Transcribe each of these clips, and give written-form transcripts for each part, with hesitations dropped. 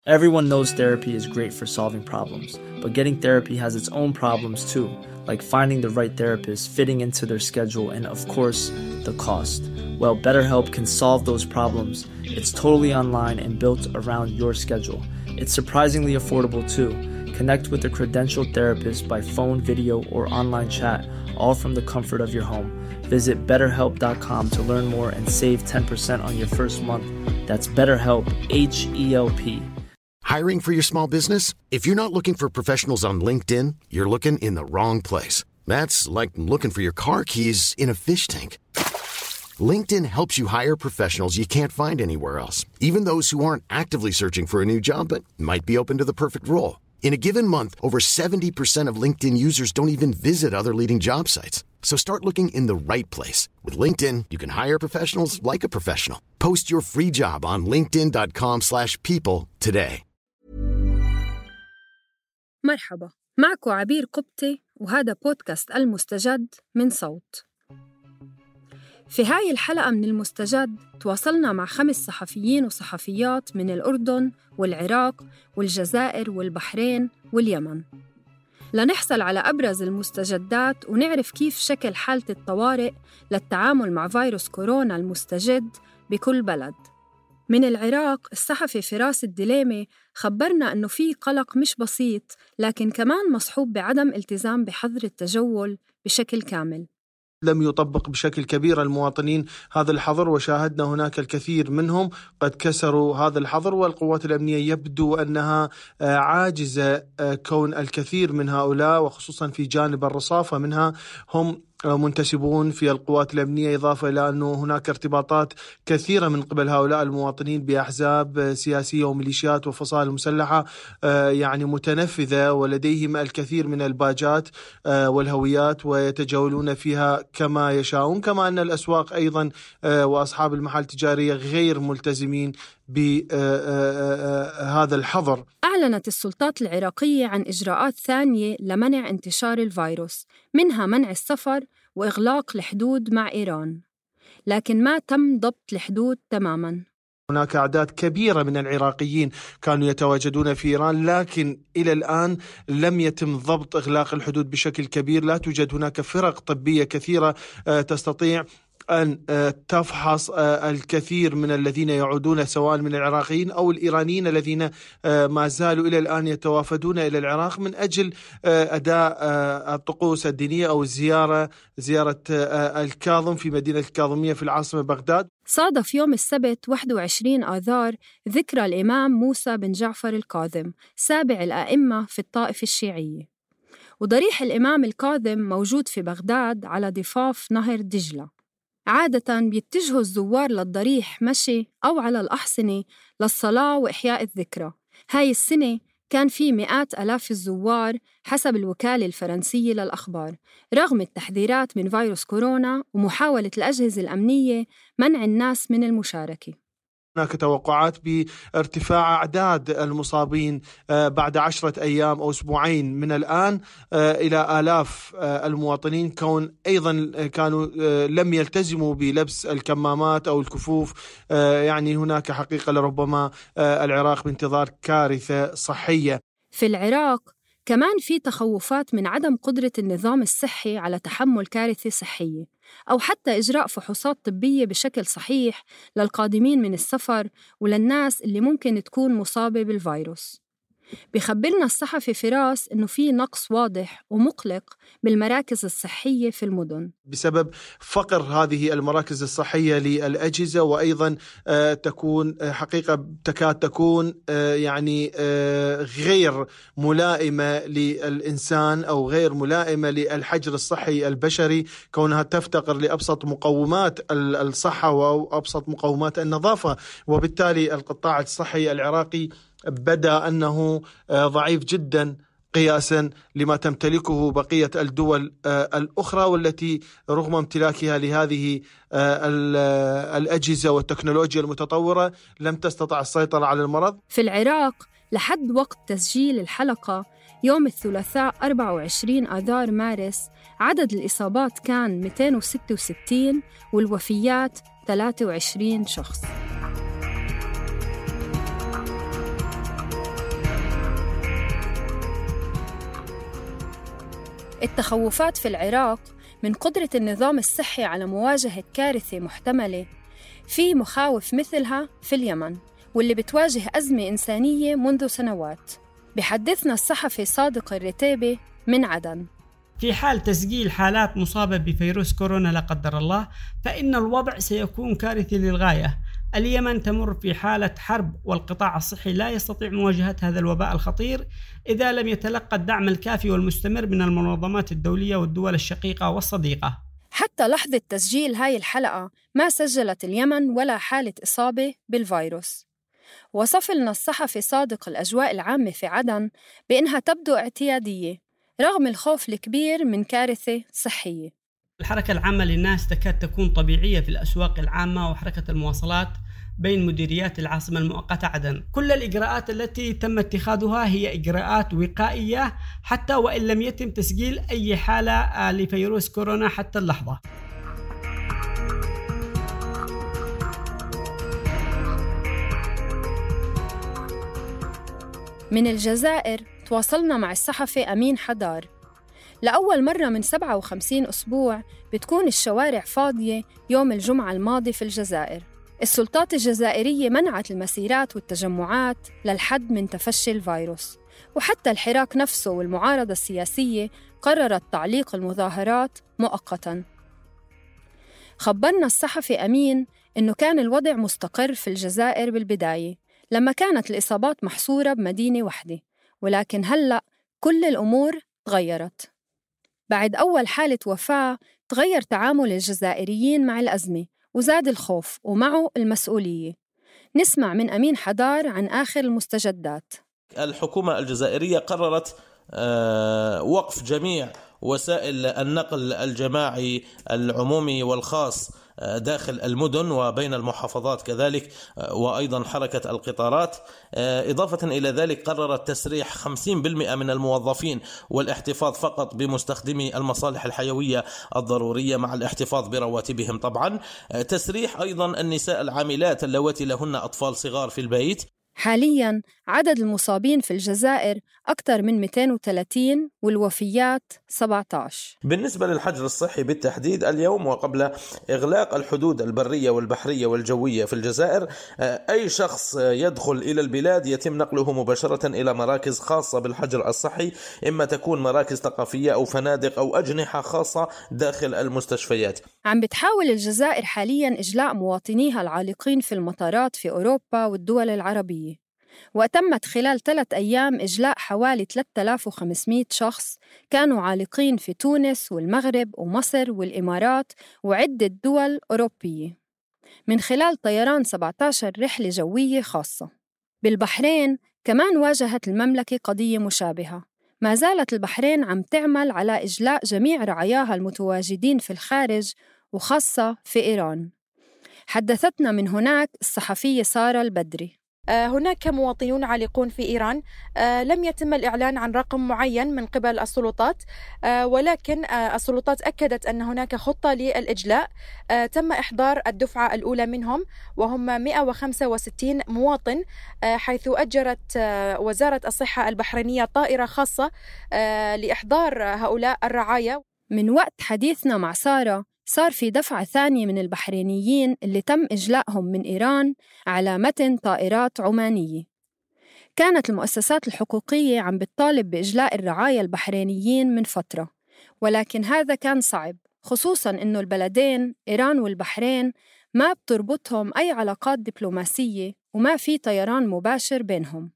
Everyone knows therapy is great for solving problems, but getting therapy has its own problems too, like finding the right therapist, fitting into their schedule, and of course, the cost. Well, BetterHelp can solve those problems. It's totally online and built around your schedule. It's surprisingly affordable too. Connect with a credentialed therapist by phone, video, or online chat, all from the comfort of your home. Visit BetterHelp.com to learn more and save 10% on your first month. That's BetterHelp, H-E-L-P. Hiring for your small business? If you're not looking for professionals on LinkedIn, you're looking in the wrong place. That's like looking for your car keys in a fish tank. LinkedIn helps you hire professionals you can't find anywhere else, even those who aren't actively searching for a new job but might be open to the perfect role. In a given month, over 70% of LinkedIn users don't even visit other leading job sites. So start looking in the right place. With LinkedIn, you can hire professionals like a professional. Post your free job on linkedin.com/people today. مرحبا، معكم عبير قبطي وهذا بودكاست المستجد من صوت. في هاي الحلقة من المستجد تواصلنا مع 5 صحفيين وصحفيات من الأردن والعراق والجزائر والبحرين واليمن لنحصل على أبرز المستجدات ونعرف كيف شكل حالة الطوارئ للتعامل مع فيروس كورونا المستجد بكل بلد. من العراق الصحفي فراس الدليمي خبرنا أنه في قلق مش بسيط لكن كمان مصحوب بعدم التزام بحظر التجول بشكل كامل. لم يطبق بشكل كبير المواطنين هذا الحظر، وشاهدنا هناك الكثير منهم قد كسروا هذا الحظر، والقوات الأمنية يبدو أنها عاجزة كون الكثير من هؤلاء وخصوصا في جانب الرصافة منها هم منتسبون في القوات الأمنية، إضافة إلى أنه هناك ارتباطات كثيرة من قبل هؤلاء المواطنين بأحزاب سياسية وميليشيات وفصائل مسلحة يعني متنفذة، ولديهم الكثير من الباجات والهويات ويتجولون فيها كما يشاءون، كما أن الأسواق أيضا وأصحاب المحال التجارية غير ملتزمين بهذا الحظر. أعلنت السلطات العراقية عن إجراءات ثانية لمنع انتشار الفيروس، منها منع السفر وإغلاق الحدود مع إيران، لكن ما تم ضبط الحدود تماماً. هناك أعداد كبيرة من العراقيين كانوا يتواجدون في إيران، لكن إلى الآن لم يتم ضبط إغلاق الحدود بشكل كبير. لا توجد هناك فرق طبية كثيرة تستطيع أن تفحص الكثير من الذين يعودون سواء من العراقيين أو الإيرانيين الذين ما زالوا إلى الآن يتوافدون إلى العراق من أجل أداء الطقوس الدينية أو زيارة الكاظم في مدينة الكاظمية في العاصمة بغداد. صادف يوم السبت 21 آذار ذكرى الإمام موسى بن جعفر الكاظم سابع الأئمة في الطائفة الشيعية، وضريح الإمام الكاظم موجود في بغداد على ضفاف نهر دجلة. عادة بيتجهوا الزوار للضريح مشي أو على الأحصنة للصلاة وإحياء الذكرى. هاي السنة كان في مئات آلاف الزوار حسب الوكالة الفرنسية للأخبار، رغم التحذيرات من فيروس كورونا ومحاولة الأجهزة الأمنية منع الناس من المشاركة. هناك توقعات بارتفاع أعداد المصابين بعد 10 أيام أو أسبوعين من الآن إلى آلاف المواطنين، كون أيضا كانوا لم يلتزموا بلبس الكمامات أو الكفوف. يعني هناك حقيقة لربما العراق بانتظار كارثة صحية. في العراق كمان في تخوفات من عدم قدرة النظام الصحي على تحمل كارثة صحية أو حتى إجراء فحوصات طبية بشكل صحيح للقادمين من السفر وللناس اللي ممكن تكون مصابة بالفيروس. بيخبرنا الصحفي فراس إنه في نقص واضح ومقلق بالمراكز الصحية في المدن بسبب فقر هذه المراكز الصحية للأجهزة، وأيضا تكون حقيقة تكاد تكون يعني غير ملائمة للإنسان أو غير ملائمة للحجر الصحي البشري، كونها تفتقر لأبسط مقومات الصحة وأبسط مقومات النظافة، وبالتالي القطاع الصحي العراقي بدأ أنه ضعيف جدا قياسا لما تمتلكه بقية الدول الأخرى، والتي رغم امتلاكها لهذه الأجهزة والتكنولوجيا المتطورة لم تستطع السيطرة على المرض. في العراق لحد وقت تسجيل الحلقة يوم الثلاثاء 24 آذار مارس عدد الإصابات كان 266 والوفيات 23 شخص. التخوفات في العراق من قدرة النظام الصحي على مواجهة كارثة محتملة في مخاوف مثلها في اليمن، واللي بتواجه أزمة إنسانية منذ سنوات. بحدثنا الصحفي صادق الرتيبي من عدن. في حال تسجيل حالات مصابة بفيروس كورونا لا قدر الله، فإن الوضع سيكون كارثي للغاية. اليمن تمر في حالة حرب، والقطاع الصحي لا يستطيع مواجهة هذا الوباء الخطير إذا لم يتلقى الدعم الكافي والمستمر من المنظمات الدولية والدول الشقيقة والصديقة. حتى لحظة تسجيل هاي الحلقة ما سجلت اليمن ولا حالة إصابة بالفيروس. وصف لنا الصحفي صادق الأجواء العامة في عدن بأنها تبدو اعتيادية رغم الخوف الكبير من كارثة صحية. الحركة العامة للناس تكاد تكون طبيعية في الأسواق العامة وحركة المواصلات بين مديريات العاصمة المؤقتة عدن. كل الإجراءات التي تم اتخاذها هي إجراءات وقائية حتى وإن لم يتم تسجيل أي حالة لفيروس كورونا حتى اللحظة. من الجزائر تواصلنا مع الصحفي أمين حدار. لأول مرة من 57 أسبوع بتكون الشوارع فاضية يوم الجمعة الماضي في الجزائر. السلطات الجزائرية منعت المسيرات والتجمعات للحد من تفشي الفيروس، وحتى الحراك نفسه والمعارضة السياسية قررت تعليق المظاهرات مؤقتاً. خبرنا الصحفي أمين إنه كان الوضع مستقر في الجزائر بالبداية لما كانت الإصابات محصورة بمدينة واحدة، ولكن هلأ كل الأمور تغيرت. بعد أول حالة وفاة تغير تعامل الجزائريين مع الأزمة وزاد الخوف ومعه المسؤولية. نسمع من أمين حدار عن آخر المستجدات. الحكومة الجزائرية قررت وقف جميع وسائل النقل الجماعي العمومي والخاص داخل المدن وبين المحافظات كذلك، وأيضا حركة القطارات. إضافة إلى ذلك قررت تسريح 50% من الموظفين والاحتفاظ فقط بمستخدمي المصالح الحيوية الضرورية مع الاحتفاظ برواتبهم طبعا. تسريح أيضا النساء العاملات اللواتي لهن أطفال صغار في البيت. حالياً عدد المصابين في الجزائر أكثر من 230 والوفيات 17. بالنسبة للحجر الصحي بالتحديد اليوم وقبل إغلاق الحدود البرية والبحرية والجوية في الجزائر، أي شخص يدخل إلى البلاد يتم نقله مباشرة إلى مراكز خاصة بالحجر الصحي، إما تكون مراكز ثقافية أو فنادق أو أجنحة خاصة داخل المستشفيات. عم بتحاول الجزائر حالياً إجلاء مواطنيها العالقين في المطارات في أوروبا والدول العربية، وتمت خلال 3 أيام إجلاء حوالي 3500 شخص كانوا عالقين في تونس والمغرب ومصر والإمارات وعدة دول أوروبية من خلال طيران 17 رحلة جوية خاصة. بالبحرين كمان واجهت المملكة قضية مشابهة. ما زالت البحرين عم تعمل على إجلاء جميع رعاياها المتواجدين في الخارج وخاصة في إيران. حدثتنا من هناك الصحفية سارة البدري. هناك مواطنون عالقون في إيران. لم يتم الإعلان عن رقم معين من قبل السلطات، ولكن السلطات أكدت أن هناك خطة للإجلاء. تم إحضار الدفعة الأولى منهم وهم 165 مواطن، حيث أجرت وزارة الصحة البحرينية طائرة خاصة لإحضار هؤلاء الرعايا. من وقت حديثنا مع سارة صار في دفعة ثانية من البحرينيين اللي تم إجلائهم من إيران على متن طائرات عمانية. كانت المؤسسات الحقوقية عم بتطالب بإجلاء الرعايا البحرينيين من فترة، ولكن هذا كان صعب، خصوصاً إنه البلدين إيران والبحرين ما بتربطهم أي علاقات دبلوماسية وما في طيران مباشر بينهم.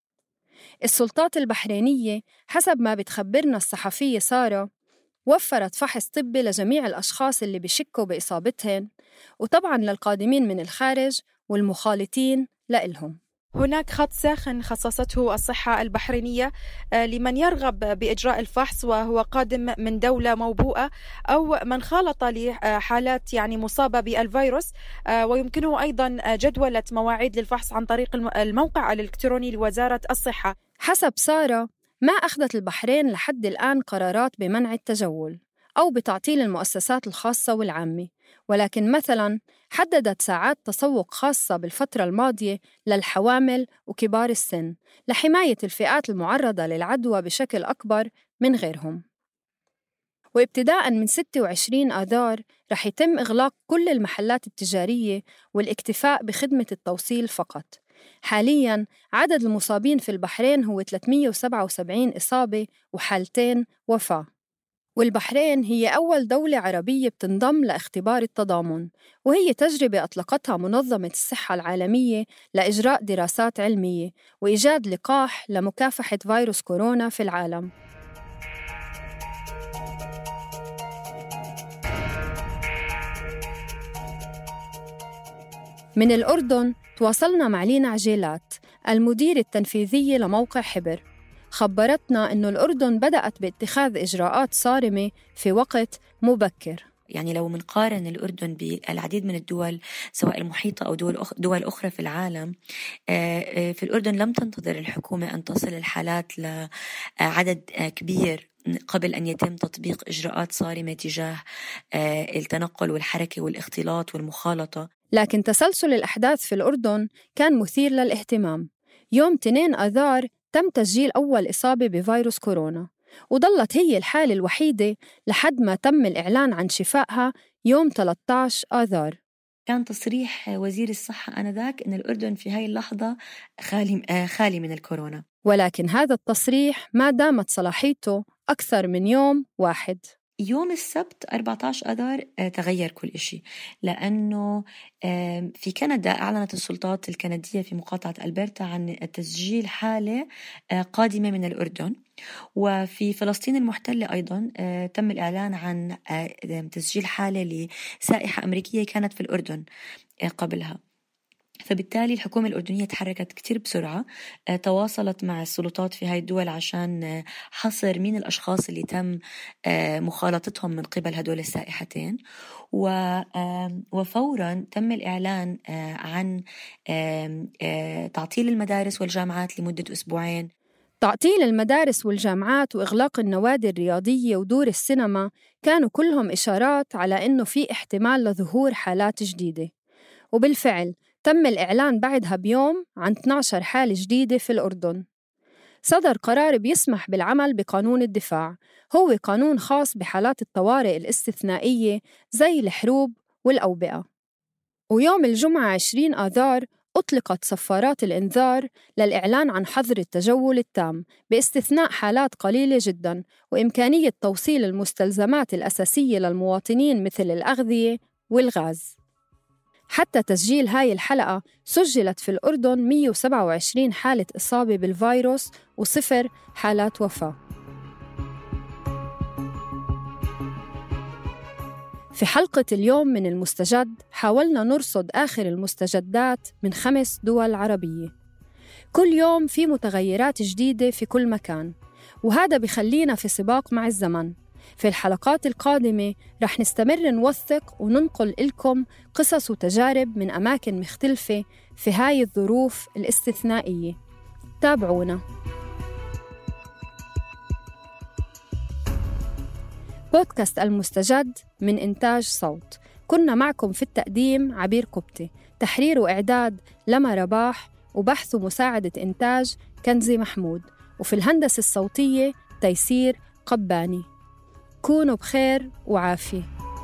السلطات البحرينية حسب ما بتخبرنا الصحفية سارة وفرت فحص طبي لجميع الأشخاص اللي بيشكوا بإصابتهم، وطبعاً للقادمين من الخارج والمخالطين لإلهم. هناك خط ساخن خصصته الصحة البحرينية لمن يرغب بإجراء الفحص وهو قادم من دولة موبوءة أو من خالط لحالات مصابة بالفيروس، ويمكنه أيضاً جدولة مواعيد للفحص عن طريق الموقع الإلكتروني لوزارة الصحة. حسب سارة ما أخذت البحرين لحد الآن قرارات بمنع التجول أو بتعطيل المؤسسات الخاصة والعامة، ولكن مثلاً حددت ساعات تسوق خاصة بالفترة الماضية للحوامل وكبار السن لحماية الفئات المعرضة للعدوى بشكل أكبر من غيرهم. وابتداءً من 26 آذار رح يتم إغلاق كل المحلات التجارية والاكتفاء بخدمة التوصيل فقط. حالياً عدد المصابين في البحرين هو 377 إصابة وحالتين وفاة. والبحرين هي أول دولة عربية بتنضم لاختبار التضامن، وهي تجربة أطلقتها منظمة الصحة العالمية لإجراء دراسات علمية وإيجاد لقاح لمكافحة فيروس كورونا في العالم. من الأردن تواصلنا مع لينا عجيلات المدير التنفيذية لموقع حبر. خبرتنا إنه الأردن بدأت باتخاذ إجراءات صارمة في وقت مبكر. يعني لو منقارن الأردن بالعديد من الدول سواء المحيطة أو دول أخرى في العالم، في الأردن لم تنتظر الحكومة أن تصل الحالات لعدد كبير قبل أن يتم تطبيق إجراءات صارمة تجاه التنقل والحركة والاختلاط والمخالطة. لكن تسلسل الأحداث في الأردن كان مثير للاهتمام. يوم 2 آذار تم تسجيل أول إصابة بفيروس كورونا، وظلت هي الحالة الوحيدة لحد ما تم الإعلان عن شفائها يوم 13 آذار. كان تصريح وزير الصحة آنذاك أن الأردن في هاي اللحظة خالي من الكورونا، ولكن هذا التصريح ما دامت صلاحيته أكثر من يوم واحد. يوم السبت 14 آذار تغير كل إشي، لأنه في كندا أعلنت السلطات الكندية في مقاطعة ألبرتا عن تسجيل حالة قادمة من الأردن، وفي فلسطين المحتلة أيضا تم الإعلان عن تسجيل حالة لسائحة أمريكية كانت في الأردن قبلها. فبالتالي الحكومة الأردنية تحركت كتير بسرعة، تواصلت مع السلطات في هاي الدول عشان حصر مين الأشخاص اللي تم مخالطتهم من قبل هدول السائحتين، وفوراً تم الإعلان عن تعطيل المدارس والجامعات لمدة 2 أسبوعين. تعطيل المدارس والجامعات وإغلاق النوادي الرياضية ودور السينما كانوا كلهم إشارات على إنه في احتمال لظهور حالات جديدة، وبالفعل تم الإعلان بعدها بيوم عن 12 حالة جديدة في الأردن. صدر قرار بيسمح بالعمل بقانون الدفاع، هو قانون خاص بحالات الطوارئ الاستثنائية زي الحروب والأوبئة. ويوم الجمعة 20 آذار أطلقت صفارات الإنذار للإعلان عن حظر التجول التام باستثناء حالات قليلة جداً، وإمكانية توصيل المستلزمات الأساسية للمواطنين مثل الأغذية والغاز. حتى تسجيل هاي الحلقة سجلت في الأردن 127 حالة إصابة بالفيروس و0 حالات وفاة. في حلقة اليوم من المستجد حاولنا نرصد آخر المستجدات من 5 دول عربية. كل يوم في متغيرات جديدة في كل مكان، وهذا بخلينا في سباق مع الزمن. في الحلقات القادمة رح نستمر نوثق وننقل لكم قصص وتجارب من أماكن مختلفة في هاي الظروف الاستثنائية. تابعونا. بودكاست المستجد من إنتاج صوت. كنا معكم في التقديم عبير قبطي، تحرير وإعداد لما رباح، وبحث ومساعدة إنتاج كنزي محمود، وفي الهندسة الصوتية تيسير قباني. كونوا بخير وعافية.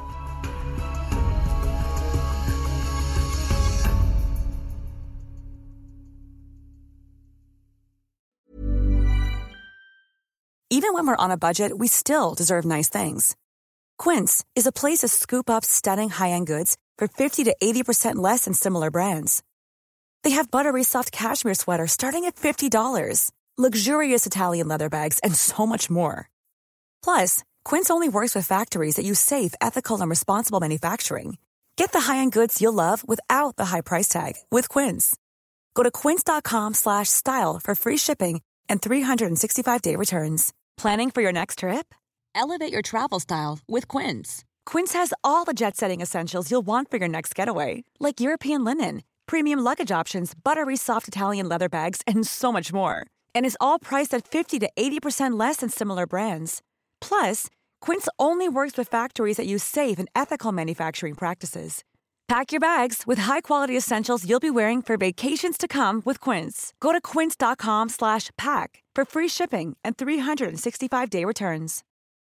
Even when we're on a budget, we still deserve nice things. Quince is a place to scoop up stunning high-end goods for 50 to 80% less than similar brands. They have buttery soft cashmere sweaters starting at $50, luxurious Italian leather bags, and so much more. Plus, Quince only works with factories that use safe, ethical, and responsible manufacturing. Get the high-end goods you'll love without the high price tag with Quince. Go to quince.com/style for free shipping and 365-day returns. Planning for your next trip? Elevate your travel style with Quince. Quince has all the jet-setting essentials you'll want for your next getaway, like European linen, premium luggage options, buttery soft Italian leather bags, and so much more. And is all priced at 50 to 80% less than similar brands. Plus, Quince only works with factories that use safe and ethical manufacturing practices. Pack your bags with high-quality essentials you'll be wearing for vacations to come with Quince. Go to quince.com/pack for free shipping and 365-day returns.